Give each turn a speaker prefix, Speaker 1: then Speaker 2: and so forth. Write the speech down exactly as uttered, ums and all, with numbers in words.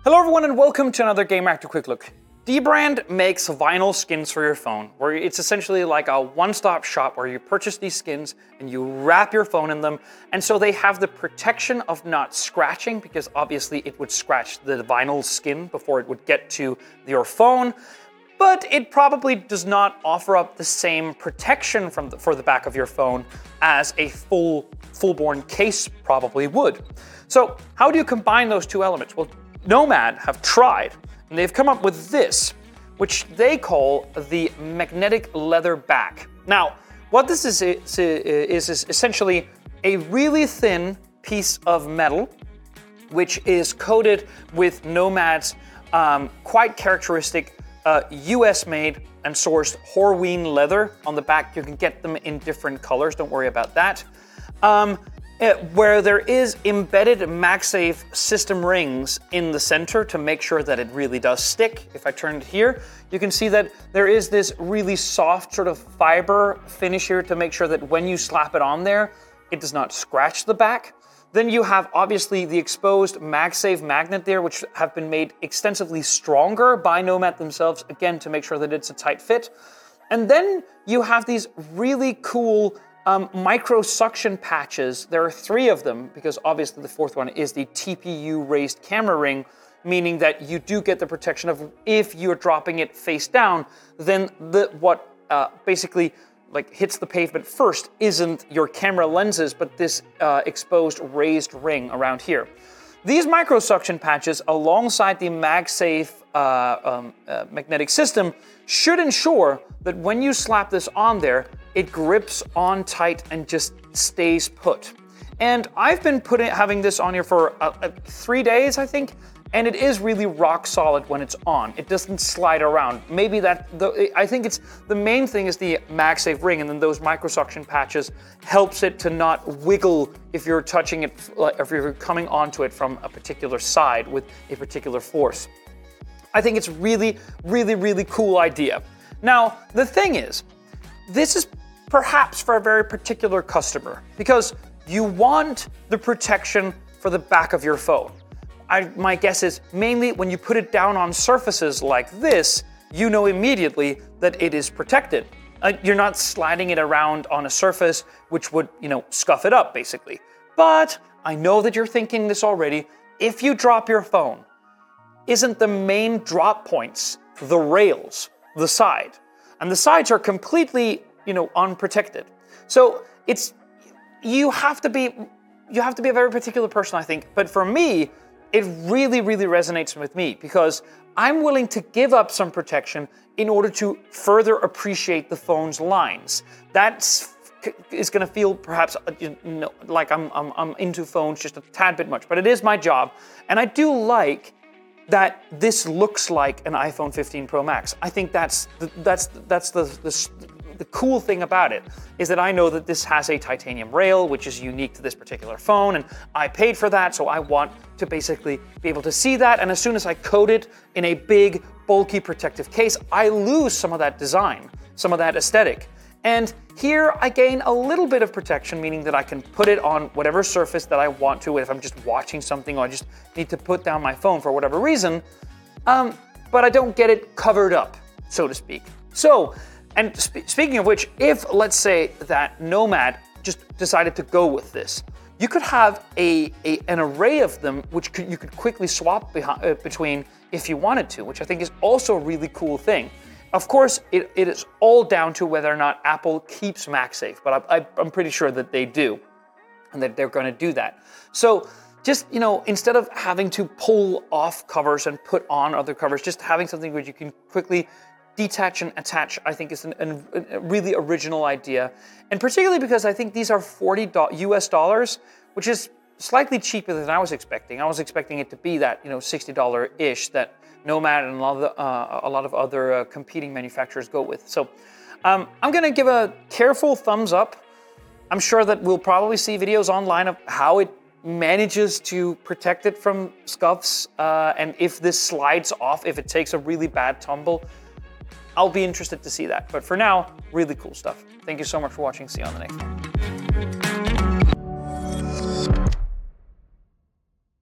Speaker 1: Hello everyone and welcome to another Gamereactor Quick Look. Dbrand makes vinyl skins for your phone, where it's essentially like a one-stop shop where you purchase these skins and you wrap your phone in them, and so they have the protection of not scratching, because obviously it would scratch the vinyl skin before it would get to your phone, but it probably does not offer up the same protection from the, for the back of your phone as a full, full-born case probably would. So how do you combine those two elements? Well, Nomad have tried, and they've come up with this, which they call the magnetic leather back. Now, what this is, is, is essentially a really thin piece of metal, which is coated with Nomad's um, quite characteristic uh, U S made and sourced Horween leather. On the back, you can get them in different colors, don't worry about that. Um, Uh, where there is embedded MagSafe system rings in the center to make sure that it really does stick. If I turn it here, you can see that there is this really soft sort of fiber finish here to make sure that when you slap it on there, it does not scratch the back. Then you have obviously the exposed MagSafe magnet there, which have been made extensively stronger by Nomad themselves, again, to make sure that it's a tight fit. And then you have these really cool Um, micro suction patches. There are three of them, because obviously the fourth one is the T P U raised camera ring, meaning that you do get the protection of if you're dropping it face down, then the what uh, basically like hits the pavement first isn't your camera lenses, but this uh, exposed raised ring around here. These micro suction patches, alongside the MagSafe uh, um, uh, magnetic system, should ensure that when you slap this on there, it grips on tight and just stays put. And I've been putting having this on here for uh, uh, three days, I think, and it is really rock solid when it's on. It doesn't slide around. Maybe that, the, I think it's, the main thing is the MagSafe ring, and then those microsuction patches helps it to not wiggle if you're touching it, if you're coming onto it from a particular side with a particular force. I think it's really, really, really cool idea. Now, the thing is, this is perhaps for a very particular customer, because you want the protection for the back of your phone. I, my guess is mainly when you put it down on surfaces like this, you know immediately that it is protected. Uh, you're not sliding it around on a surface which would, you know, scuff it up basically. But I know that you're thinking this already. If you drop your phone, isn't the main drop points the rails, the side? And the sides are completely, you know, unprotected. So it's, you have to be, you have to be a very particular person, I think. But for me, it really, really resonates with me, because I'm willing to give up some protection in order to further appreciate the phone's lines. That's is going to feel perhaps, you know, like I'm, I'm, I'm into phones just a tad bit much, but it is my job. And I do like that this looks like an iPhone fifteen Pro Max. I think that's the, that's that's the, the the cool thing about it, is that I know that this has a titanium rail, which is unique to this particular phone, and I paid for that, so I want to basically be able to see that. And as soon as I coat it in a big, bulky protective case, I lose some of that design, some of that aesthetic. And here I gain a little bit of protection, meaning that I can put it on whatever surface that I want to, if I'm just watching something or I just need to put down my phone for whatever reason, um, but I don't get it covered up, so to speak. So, and sp speaking of which, if let's say that Nomad just decided to go with this, you could have a, a an array of them which could, you could quickly swap behind, uh, between if you wanted to, which I think is also a really cool thing. Of course, it, it is all down to whether or not Apple keeps MagSafe, but I, I, I'm pretty sure that they do, and that they're going to do that. So just, you know, instead of having to pull off covers and put on other covers, just having something where you can quickly detach and attach, I think is an, an, a really original idea. And particularly because I think these are forty U S dollars, which is slightly cheaper than I was expecting. I was expecting it to be that, you know, sixty dollars-ish that Nomad and a lot of, the, uh, a lot of other uh, competing manufacturers go with. So um, I'm gonna give a careful thumbs up. I'm sure that we'll probably see videos online of how it manages to protect it from scuffs, uh, and if this slides off, if it takes a really bad tumble, I'll be interested to see that. But for now, really cool stuff. Thank you so much for watching. See you on the next one.